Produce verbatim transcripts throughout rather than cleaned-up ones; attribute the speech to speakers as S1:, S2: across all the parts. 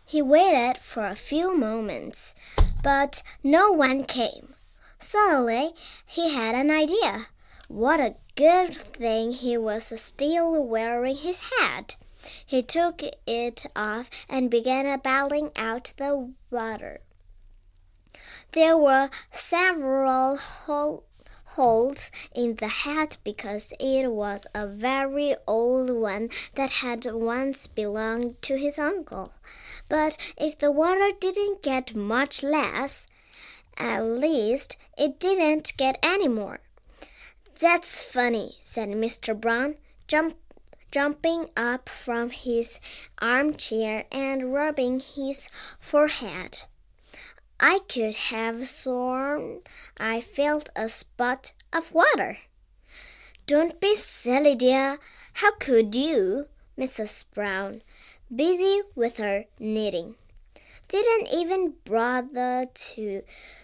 S1: He waited for a few moments, but no one came. Suddenly, he had an idea. What a good thing he was still wearing his hat. He took it off and began bailing out the water. There were several hole, holes in the hat because it was a very old one that had once belonged to his uncle. But if the water didn't get much less, at least it didn't get any more. "That's funny," said Mister Brown, jump, jumping up from his armchair and rubbing his forehead. "I could have sworn I felt a spot of water." "Don't be silly, dear. How could you?" Missus Brown, busy with her knitting, didn't even bother to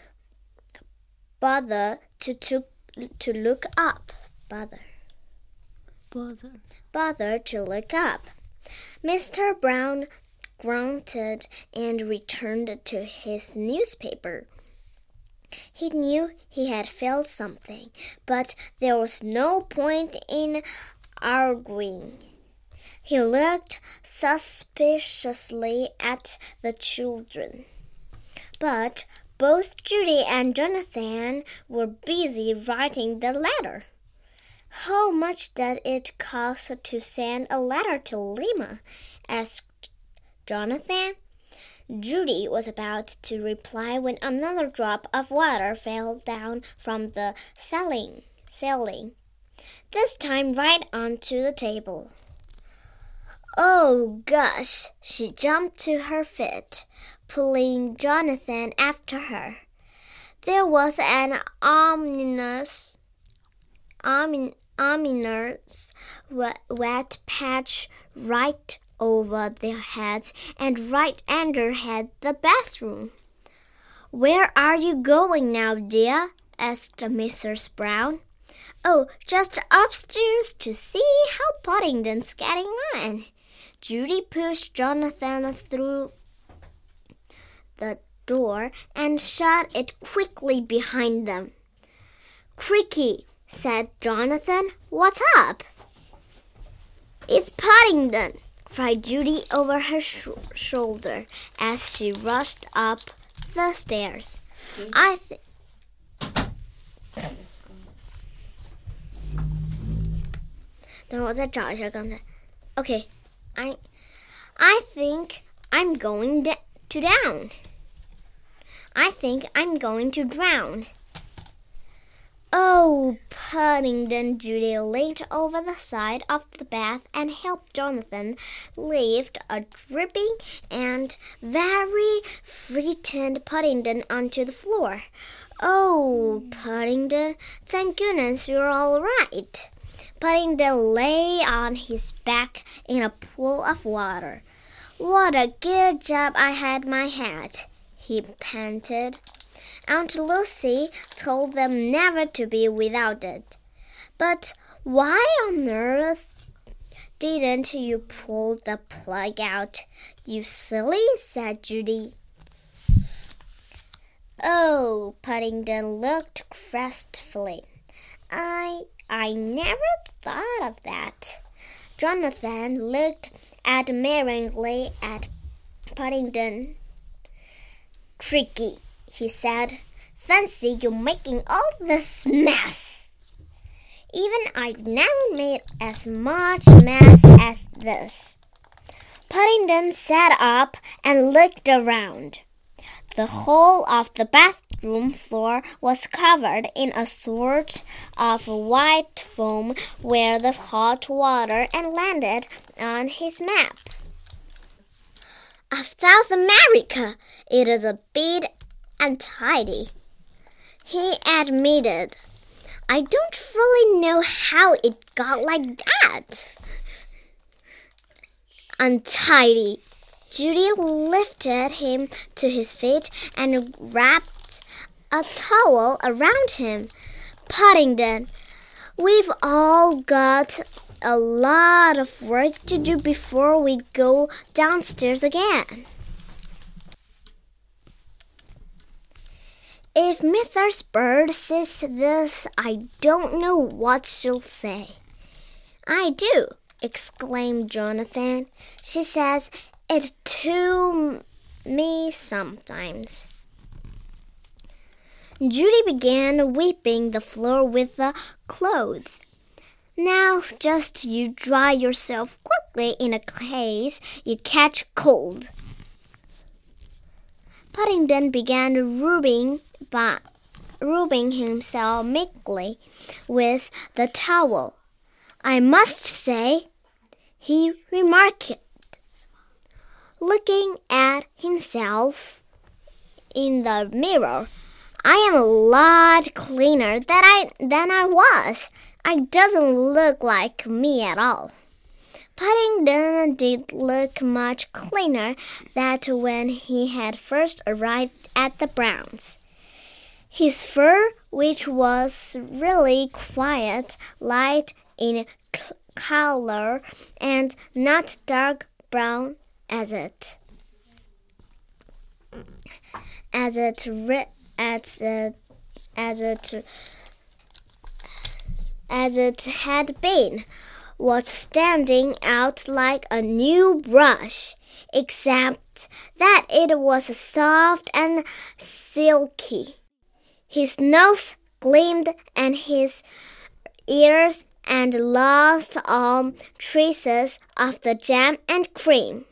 S1: bother to to, to look up. Bother.
S2: Bother.
S1: Bother to look up. Mister Brown grunted and returned to his newspaper. He knew he had failed something, but there was no point in arguing. He looked suspiciously at the children, but both Judy and Jonathan were busy writing their letter. "How much does it cost to send a letter to Lima?" asked Jonathan. Judy was about to reply when another drop of water fell down from the ceiling, ceiling, this time right onto the table. "Oh, gosh!" She jumped to her feet, pulling Jonathan after her. There was an ominous, omin, ominous wet patch right over their heads and right under had the bathroom. "Where are you going now, dear?" asked Missus Brown. "Oh, just upstairs to see how Paddington's getting on." Judy pushed Jonathan through the door and shut it quickly behind them. "Cricky," said Jonathan, "what's up?" "It's Paddington!" cried Judy over her sh shoulder as she rushed up the stairs. I think. 等会儿我再找一下刚才。Okay, I, I think I'm going to down. I think I'm going to drown. "Oh, Paddington!" Judy leaned over the side of the bath and helped Jonathan lift a dripping and very frightened Paddington onto the floor. "Oh, Paddington, thank goodness you're all right." Paddington lay on his back in a pool of water. "What a good job I had my hat," he panted. Aunt Lucy told them never to be without it. "But why on earth didn't you pull the plug out, you silly?" said Judy. Oh, Paddington looked crestfallen. I, I never thought of that. Jonathan looked admiringly at Paddington. "Cricky," he said, "fancy you making all this mess." "Even I've never made as much mess as this." Paddington sat up and looked around. The whole of the bathroom floor was covered in a sort of white foam where the hot water had landed on his map. "Of South America, it is a bit untidy," he admitted. "I don't really know how it got like that." Untidy. Judy lifted him to his feet and wrapped a towel around him. "Paddington, we've all got a lot of work to do before we go downstairs again." If Missus Bird says this, I don't know what she'll say. I do, exclaimed Jonathan. She says it to me sometimes. Judy began wiping the floor with the clothes. Now just you dry yourself quickly in a case you catch cold. Paddington began rubbing, by, rubbing himself meekly with the towel. I must say, he remarked, looking at himself in the mirror, I am a lot cleaner than I, than I was. It doesn't look like me at all. Paddington did look much cleaner than when he had first arrived at the Browns. His fur, which was really quite light in color and not dark brown as it, as it, as it, as it, as it had been, was standing out like a new brush, except that it was soft and silky. His nose gleamed and his ears and lost all traces of the jam and cream.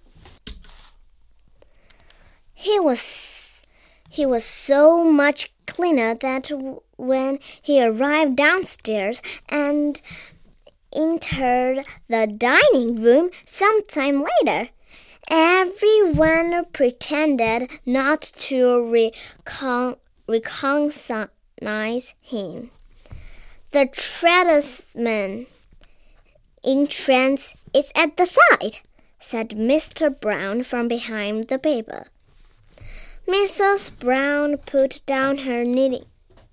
S1: He was, he was so much cleaner that when he arrived downstairs and entered the dining room some time later, everyone pretended not to recon- recognize him. The tradesman entrance is at the side, said Mister Brown from behind the paper. Missus Brown put down her knitting.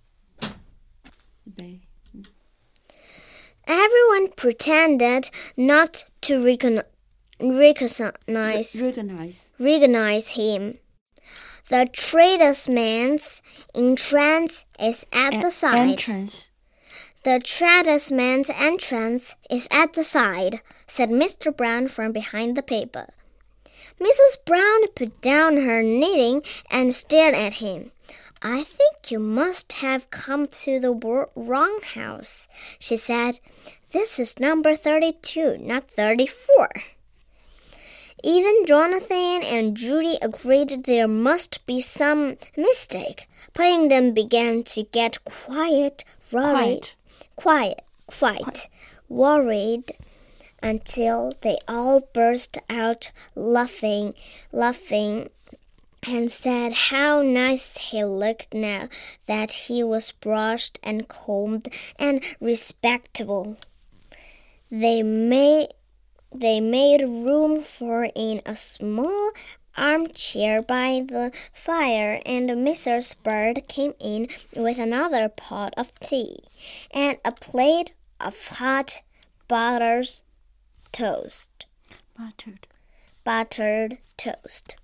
S1: Everyone pretended not to recon- recognize,
S2: recognize.
S1: recognize him. The tradesman's entrance is at
S2: A-
S1: the side.
S2: Entrance.
S1: The tradesman's entrance is at the side, said Mister Brown from behind the paper. Missus Brown put down her knitting and stared at him. I think you must have come to the wrong house, she said. This is number thirty-two, not thirty-four. Even Jonathan and Judy agreed there must be some mistake. Paddington began to get quiet, worried, quiet, quiet, quiet. worried, until they all burst out laughing, laughing. and said how nice he looked now that he was brushed and combed and respectable. They made, they made room for in a small armchair by the fire, and Missus Bird came in with another pot of tea and a plate of hot buttered toast.
S2: Buttered.
S1: Buttered toast.